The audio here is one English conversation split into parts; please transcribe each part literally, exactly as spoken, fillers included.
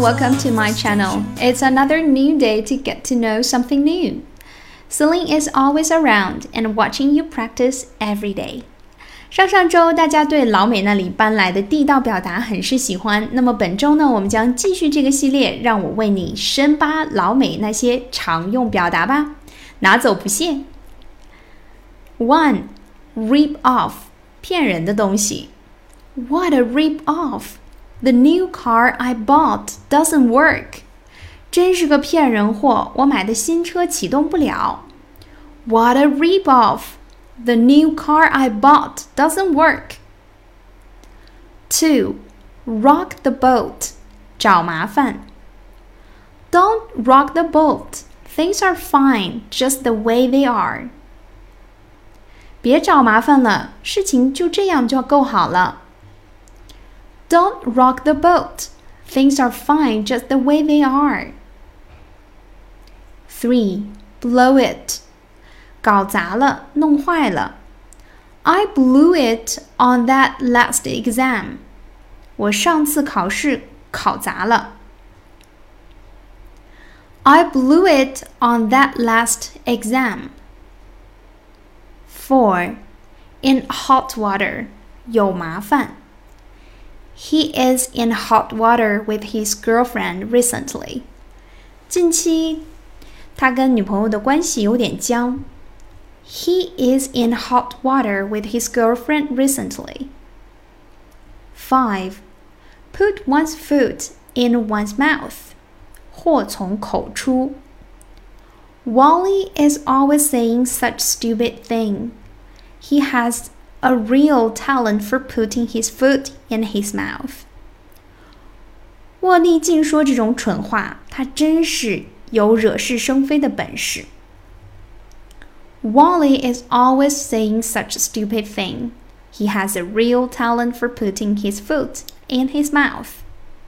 welcome to my channel. It's another new day to get to know something new. Celine is always around and watching you practice every day. 上上周大家对老美那里搬来的地道表达很是喜欢，那么本周呢，我们将继续这个系列，让我为你深扒老美那些常用表达吧，拿走不谢。One, rip off, 骗人的东西。What a rip off! The new car I bought doesn't work. 真是个骗人货，我买的新车启动不了。What a rip off!The new car I bought doesn't work. Two, rock the boat. 找麻烦。Don't rock the boat. Things are fine, just the way they are. 别找麻烦了，事情就这样就够好了。Don't rock the boat. Things are fine, just the way they are. Three, blow it.搞砸了，弄坏了。I blew it on that last exam. 我上次考试考砸了。I blew it on that last exam. Four, in hot water. 有麻烦。He is in hot water with his girlfriend recently. 近期，他跟女朋友的关系有点僵。He is in hot water with his girlfriend recently. Five, put one's foot in one's mouth. 祸从口出。Wally is always saying such stupid thing. He has a real talent for putting his foot in his mouth. 沃利净说这种蠢话，他真是有惹是生非的本事。Wally is always saying such a stupid thing. He has a real talent for putting his foot in his mouth.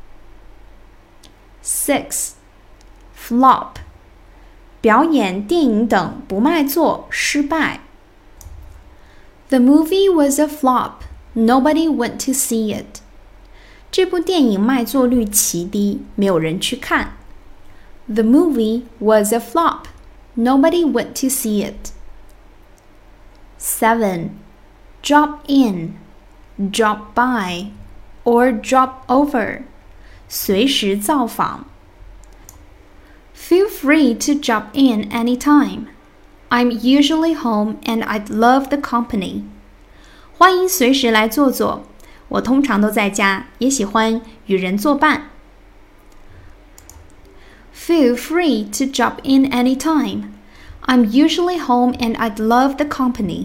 Six, flop. 表演、电影等不卖座，失败。The movie was a flop. Nobody went to see it. 这部电影卖座率奇低，没有人去看。The movie was a flop. Nobody went to see it.Seven, drop in, drop by, or drop over. 随时造访。Feel free to drop in anytime. I'm usually home and I'd love the company. 欢迎随时来坐坐，我通常都在家，也喜欢与人作伴。Feel free to drop in anytime.I'm usually home and I'd love the company.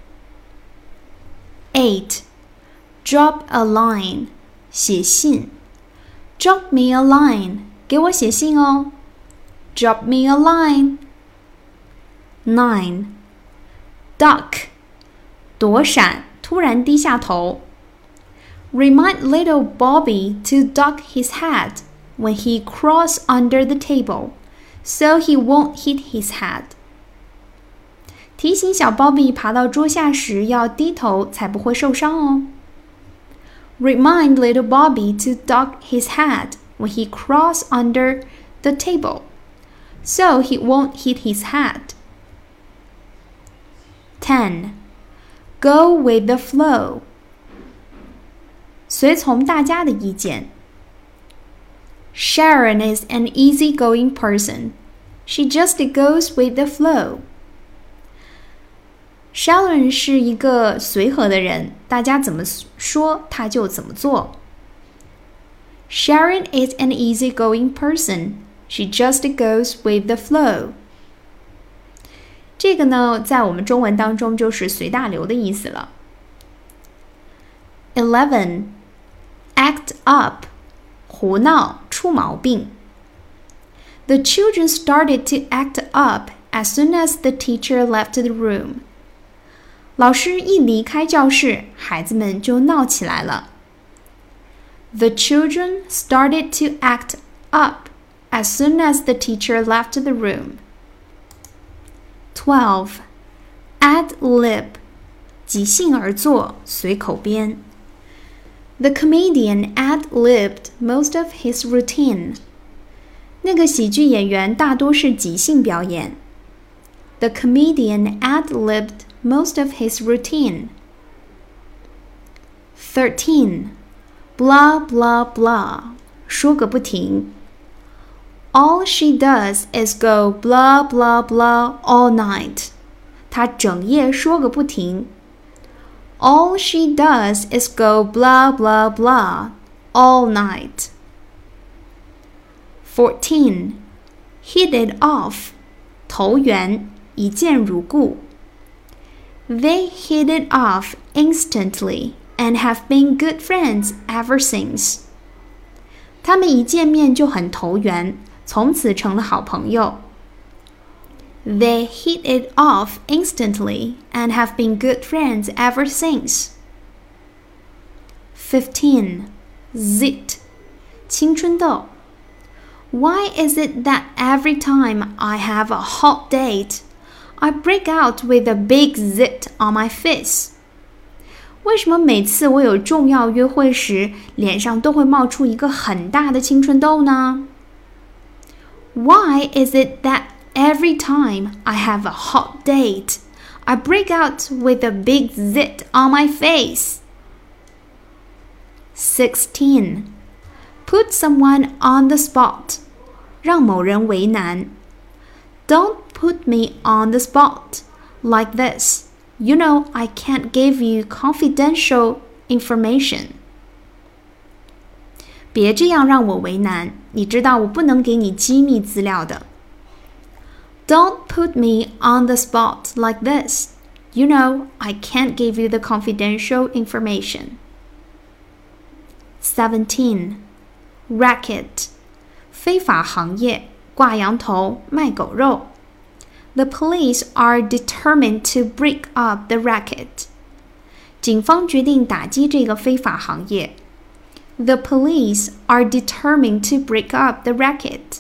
Eight, drop a line. 写信。Drop me a line. 给我写信哦。Drop me a line. Nine, duck. 躲闪，突然低下头。Remind little Bobby to duck his head when he crawls under the table, so he won't hit his head.提醒小 Bobby 爬到桌下时要低头，才不会受伤哦。Remind little Bobby to duck his head when he crawls under the table, so he won't hit his head. Ten, go with the flow. 随从大家的意见。Sharon is an easygoing person. She just goes with the flow.Sharon 是一个随和的人，大家怎么说他就怎么做。Sharon is an easygoing person. She just goes with the flow. 这个呢，在我们中文当中就是随大流的意思了。Eleven, act up. 胡闹，出毛病。The children started to act up as soon as the teacher left the room.老师一离开教室，孩子们就闹起来了。The children started to act up as soon as the teacher left the room. Twelve, ad lib. 即兴而作，随口编。 The comedian ad-libbed most of his routine. 那个喜剧演员大多是即兴表演。The comedian ad-libbed most of his routine. thirteen. Blah, blah, blah. 说个不停。All she does is go blah, blah, blah all night. 她整夜说个不停。All she does is go blah, blah, blah all night. fourteen. Hit it off. 投缘，一见如故。They hit it off instantly and have been good friends ever since. 他们一见面就很投缘，从此成了好朋友。They hit it off instantly and have been good friends ever since. fifteen. Zit. 青春痘。Why is it that every time I have a hot date, I break out with a big zit on my face? 为什么每次我有重要约会时，脸上都会冒出一个很大的青春痘呢？ Why is it that every time I have a hot date, I break out with a big zit on my face? sixteen. Put someone on the spot. 让某人为难。Don't put me on the spot like this. You know I can't give you confidential information. 别这样让我为难，你知道我不能给你机密资料的。Don't put me on the spot like this. You know I can't give you the confidential information. seventeen. Racket. 非法行业，挂羊头，卖狗肉。The police are determined to break up the racket. 警方决定打击这个非法行业。The police are determined to break up the racket.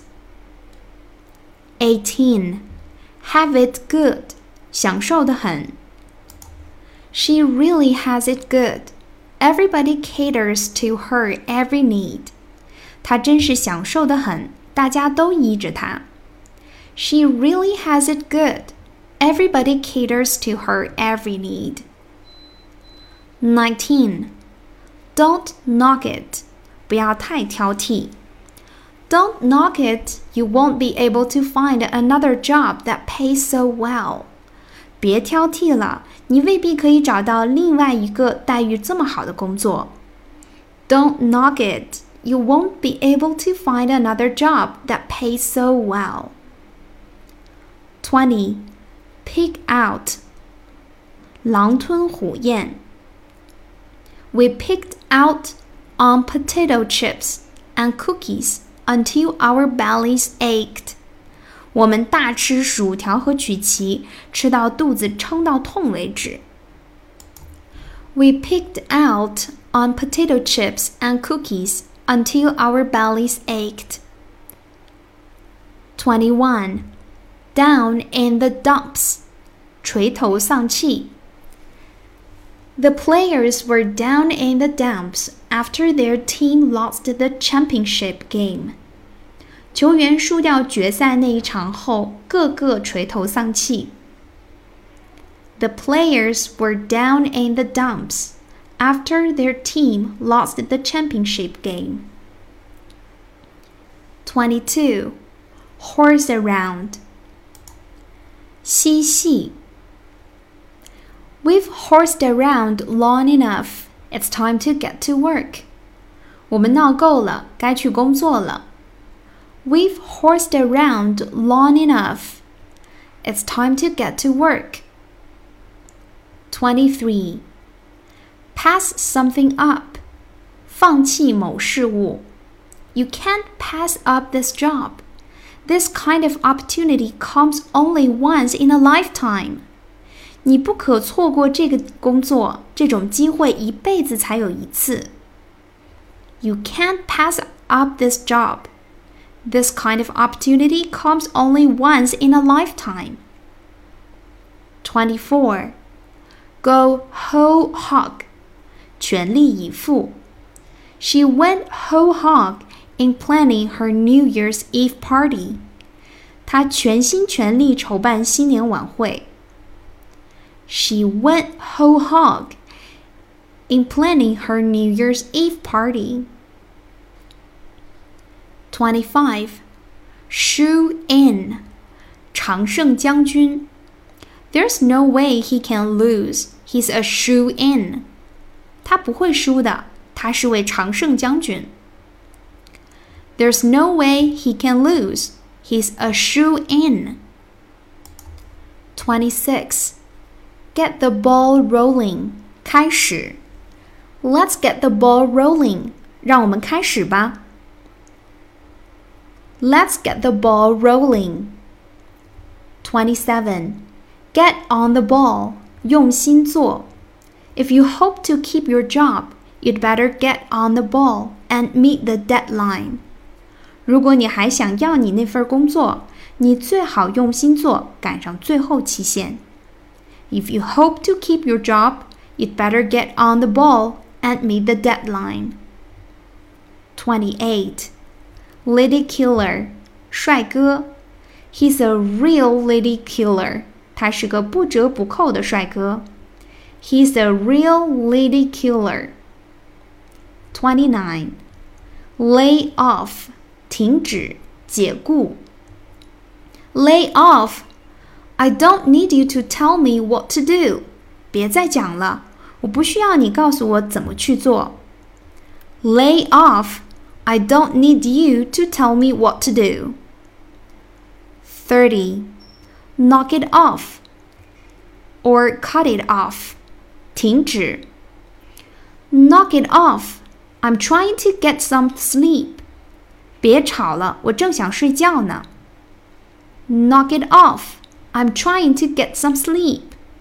eighteen. Have it good. 享受得很。She really has it good. Everybody caters to her every need. 她真是享受得很，大家都依着她。She really has it good. Everybody caters to her every need. nineteen. Don't knock it. 不要太挑剔。Don't knock it. You won't be able to find another job that pays so well. 别挑剔了，你未必可以找到另外一个待遇这么好的工作。Don't knock it. You won't be able to find another job that pays so well. twenty. Pig out. 狼吞虎咽。We picked out on potato chips and cookies until our bellies ached. 我们大吃薯条和曲奇，吃到肚子撑到痛为止。We picked out on potato chips and cookies until our bellies ached. twenty-one. Down in the dumps. 垂头丧气。The players were down in the dumps after their team lost the championship game. 球员输掉决赛那一场后，个个垂头丧气。The players were down in the dumps after their team lost the championship game. twenty-two. Horse around. 嬉戏。We've horsed around long enough. It's time to get to work. 我们闹够了，该去工作了。We've horsed around long enough. It's time to get to work. twenty-three. Pass something up. 放弃某事物。You can't pass up this job. This kind of opportunity comes only once in a lifetime. 你不可错过这个工作，这种机会一辈子才有一次。You can't pass up this job. This kind of opportunity comes only once in a lifetime. twenty-four. Go whole hog. 全力以赴。 She went whole hog in planning her New Year's Eve party. 她全心全力筹办新年晚会。She went whole hog in planning her New Year's Eve party. twenty-five. Shoe in. 常胜将军。There's no way he can lose. He's a shoe in. 他不会输的，他是位常胜将军。There's no way he can lose. He's a shoe in. twenty-six. Get the ball rolling. 开始。Let's get the ball rolling. 让我们开始吧。Let's get the ball rolling. twenty-seven. Get on the ball. 用心做。If you hope to keep your job, you'd better get on the ball and meet the deadline. 如果你还想要你那份工作，你最好用心做，赶上最后期限。If you hope to keep your job, you'd better get on the ball and meet the deadline. twenty-eight. Lady killer. 帅哥。He's a real lady killer. 他是个不折不扣的帅哥。He's a real lady killer. twenty-nine. Lay off. 停止，解雇。Lay off. I don't need you to tell me what to do. 别再讲了，我不需要你告诉我怎么去做。Lay off. I don't need you to tell me what to do. thirty. Knock it off. Or cut it off. 停止。Knock it off. I'm trying to get some sleep. 别吵了，我正想睡觉呢。Knock it off. I'm trying to get some sleep.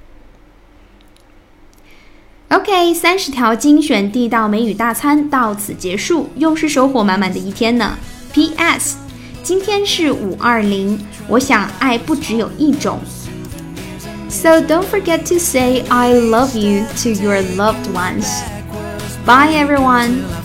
OK， 三十条精选地道美语大餐到此结束，又是收获满满的一天呢。P S 今天是五二零，我想爱不只有一种。So don't forget to say I love you to your loved ones. Bye everyone.